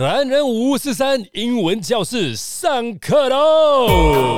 男人543英文教室上课喽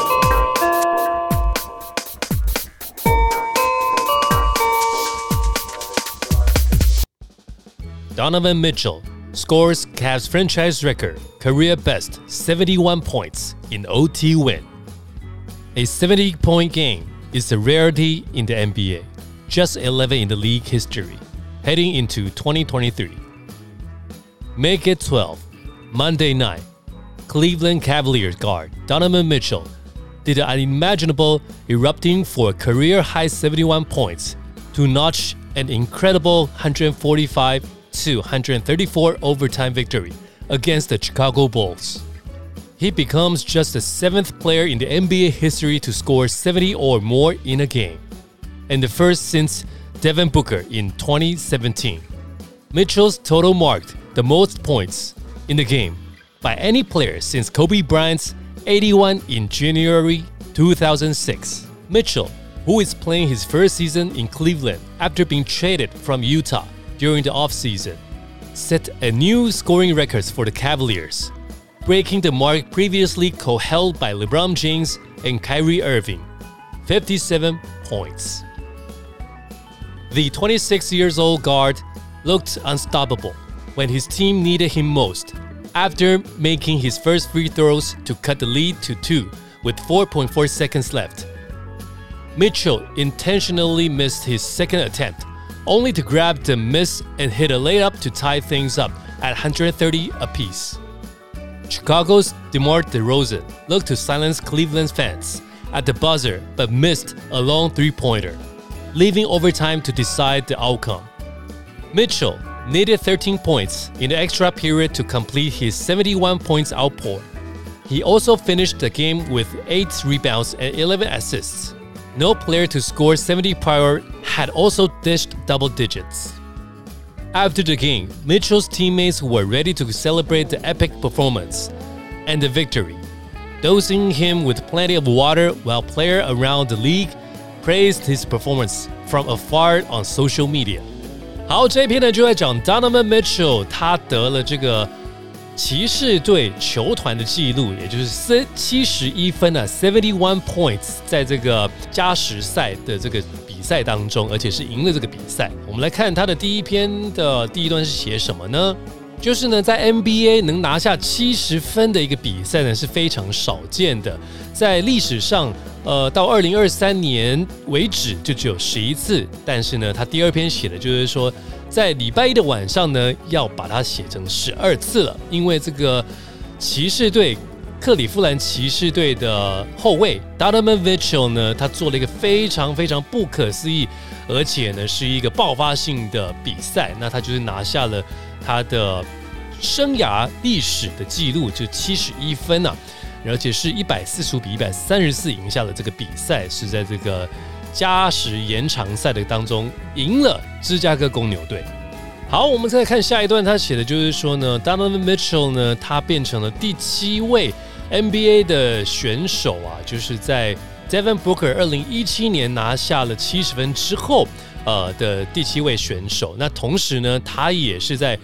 ！Donovan Mitchell scores Cavs franchise record, career best 71 points in OT win. A 70-point game is a rarity in the NBA, just 11 in the league history, heading into 2023. Make it 12. Monday night, Cleveland Cavaliers guard Donovan Mitchell did the unimaginable, erupting for a career-high 71 points to notch an incredible 145-134 overtime victory against the Chicago Bulls. He becomes just the 7th player in the NBA history to score 70 or more in a game, and the first since Devin Booker in 2017. Mitchell's total marked the most points in the game by any player since Kobe Bryant's 81 in January 2006. Mitchell, who is playing his first season in Cleveland after being traded from Utah during the offseason, set a new scoring record for the Cavaliers, breaking the mark previously co-held by LeBron James and Kyrie Irving, 57 points. The 26-year-old guard looked unstoppable when his team needed him most, after making his first free throws to cut the lead to 2 with 4.4 seconds left. Mitchell intentionally missed his second attempt, only to grab the miss and hit a layup to tie things up at 130 apiece. Chicago's DeMar DeRozan looked to silence Cleveland's fans at the buzzer but missed a long three-pointer, leaving overtime to decide the outcome. Mitchell needed 13 points in the extra period to complete his 71 points outpour. He also finished the game with 8 rebounds and 11 assists. No player to score 70 prior had also dished double digits. After the game, Mitchell's teammates were ready to celebrate the epic performance and the victory, dosing him with plenty of water while players around the league praised his performance from afar on social media. 好，这一篇呢就在讲 Donovan Mitchell 他得了这个骑士队球团的纪录，也就是71分啊 ，71 points， 在这个加时赛的这个比赛当中，而且是赢了这个比赛。我们来看他的第一篇的第一段是写什么呢？就是呢，在 NBA 能拿下70分的一个比赛呢是非常少见的，在历史上，到2023年为止就只有11次。但是呢，他第二篇写的就是说，在礼拜一的晚上呢，要把它写成12次了，因为这个骑士队。克里夫兰骑士队的后卫 Donovan Mitchell 呢，他做了一个非常非常不可思议，而且呢是一个爆发性的比赛。那他就是拿下了他的生涯历史的纪录，就71分啊，而且是145比134赢下了这个比赛，是在这个加时延长赛的当中赢了芝加哥公牛队。好，我们再看下一段，他写的就是说呢 ，Donovan Mitchell 呢，他变成了第7位 NBA 的选手啊，就是在 Devin Booker 2017年拿下了70分之后，的第7位选手。那同时呢，他也是在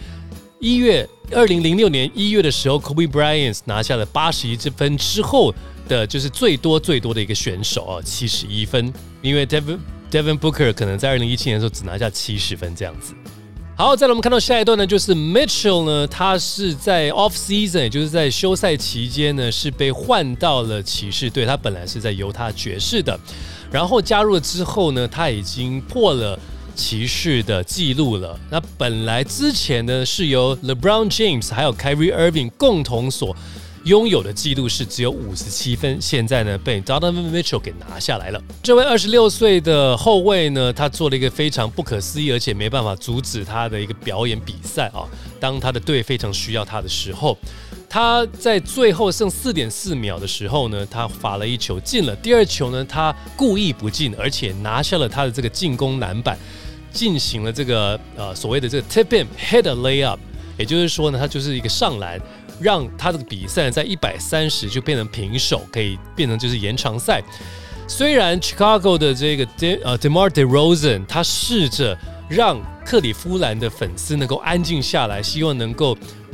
2006年1月的时候 ，Kobe Bryant 拿下了81分之后的，就是最多的一个选手啊，71分。因为 Devin Booker 可能在2017年的时候只拿下70分这样子。好，再来我们看到下一段呢，就是 Mitchell 呢，他是在 off season， 也就是在休赛期间呢，是被换到了骑士队。他本来是在犹他爵士的，然后加入了之后呢，他已经破了骑士的记录了。那本来之前呢，是由 LeBron James 还有 Kyrie Irving 共同所拥有的记录是只有57分，现在呢被 Donovan Mitchell 给拿下来了。这位26岁的后卫呢，他做了一个非常不可思议，而且没办法阻止他的一个表演比赛啊。当他的队非常需要他的时候，他在最后剩4.4秒的时候呢，他罚了一球进了，第二球呢他故意不进，而且拿下了他的这个进攻篮板，进行了这个所谓的这个 tip in head a layup， 也就是说呢，他就是一个上篮。让他这个比赛在130就变成平手，可以变成就是延长赛。虽然 Chicago 的这个DeMar DeRozan 他试着让克里夫兰的粉丝能够安静下来，希望能够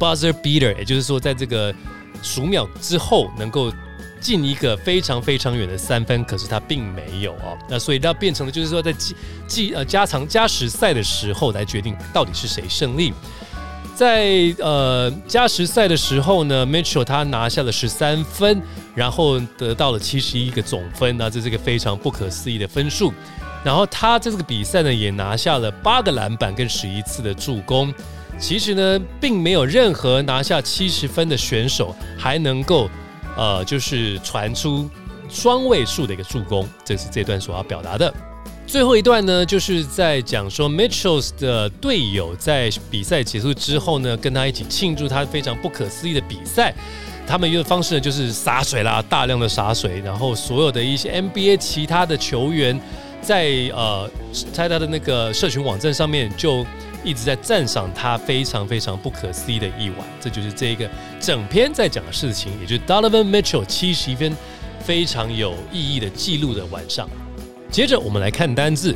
buzzer beater， 也就是说在这个数秒之后能够进一个非常非常远的3分，可是他并没有哦。那所以那变成了就是说在加时赛的时候来决定到底是谁胜利。在加时赛的时候呢 ，Mitchell 他拿下了13分，然后得到了71个总分，那这是一个非常不可思议的分数。然后他在这个比赛呢也拿下了8个篮板跟11次的助攻。其实呢，并没有任何拿下70分的选手还能够就是传出双位数的一个助攻，这是这段所要表达的。最后一段呢，就是在讲说 Mitchell 的队友在比赛结束之后呢，跟他一起庆祝他非常不可思议的比赛。他们用的方式呢，就是洒水啦，大量的洒水，然后所有的一些 NBA 其他的球员在他的那个社群网站上面就一直在赞赏他非常非常不可思议的一晚。这就是这个整篇在讲的事情，也就是 Donovan Mitchell 71分非常有意义的记录的晚上。接着我们来看单字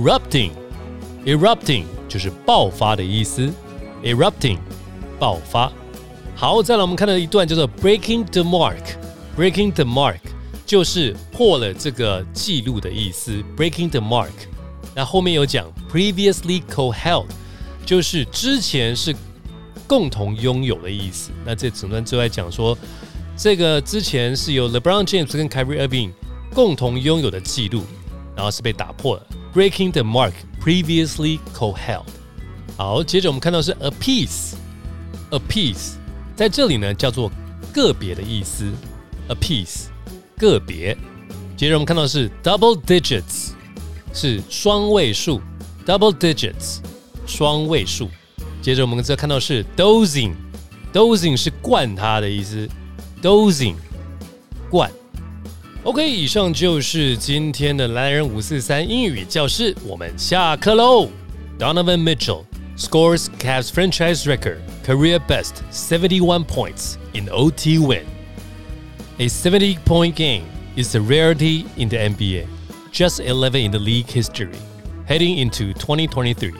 erupting 就是爆发的意思 erupting 爆发。好，再来我们看到一段叫做 breaking the mark 就是破了这个记录的意思 breaking the mark。那后面有讲 previously co-held 就是之前是共同拥有的意思。那这整段就在讲说这个之前是由 LeBron James 跟 Kyrie Irving 共同拥有的记录，然后是被打破了 breaking the mark previously co-held。 好，接着我们看到是 a piece 在这里呢叫做个别的意思 a piece 个别。接着我们看到是 double digits 是双位数 double digits 双位数。接着我们再看到是 dozing 是灌他的意思 dozing 灌。OK， 以上就是今天的蓝人543英语教室，我们下课喽。Donovan Mitchell scores Cavs franchise record career best 71 points in OT win. A 70-point game is a rarity in the NBA, just 11 in the league history, heading into 2023.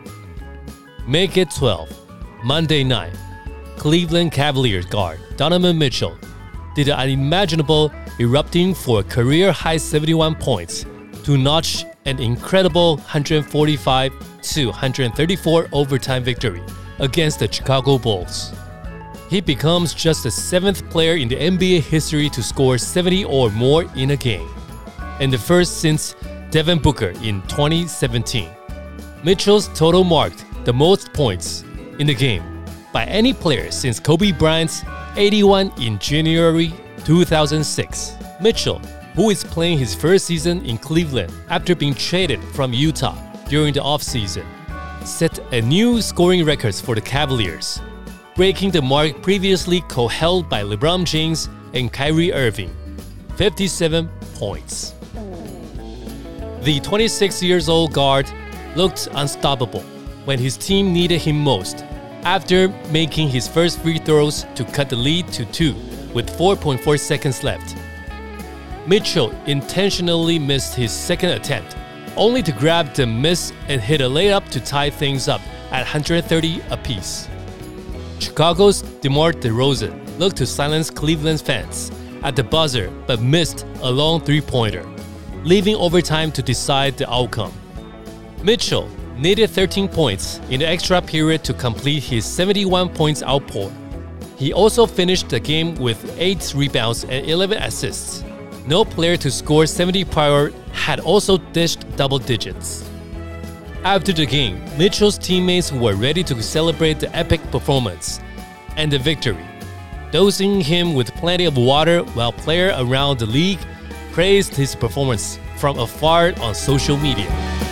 Make it 12. Monday night, Cleveland Cavaliers guard Donovan Mitchell did the unimaginable, erupting for a career-high 71 points to notch an incredible 145-134 overtime victory against the Chicago Bulls. He becomes just the 7th player in the NBA history to score 70 or more in a game, and the first since Devin Booker in 2017. Mitchell's total marked the most points in the game by any player since Kobe Bryant's 81 in January 2006. Mitchell, who is playing his first season in Cleveland after being traded from Utah during the offseason, set a new scoring records for the Cavaliers, breaking the mark previously co-held by LeBron James and Kyrie Irving, 57 points. The 26-year-old guard looked unstoppable when his team needed him most, after making his first free throws to cut the lead to 2 with 4.4 seconds left. Mitchell intentionally missed his second attempt, only to grab the miss and hit a layup to tie things up at 130 apiece. Chicago's DeMar DeRozan looked to silence Cleveland's fans at the buzzer but missed a long three-pointer, leaving overtime to decide the outcome. Mitchell needed 13 points in the extra period to complete his 71 points outpour. He also finished the game with 8 rebounds and 11 assists. No player to score 70 prior had also dished double digits. After the game, Mitchell's teammates were ready to celebrate the epic performance and the victory, dosing him with plenty of water while players around the league praised his performance from afar on social media.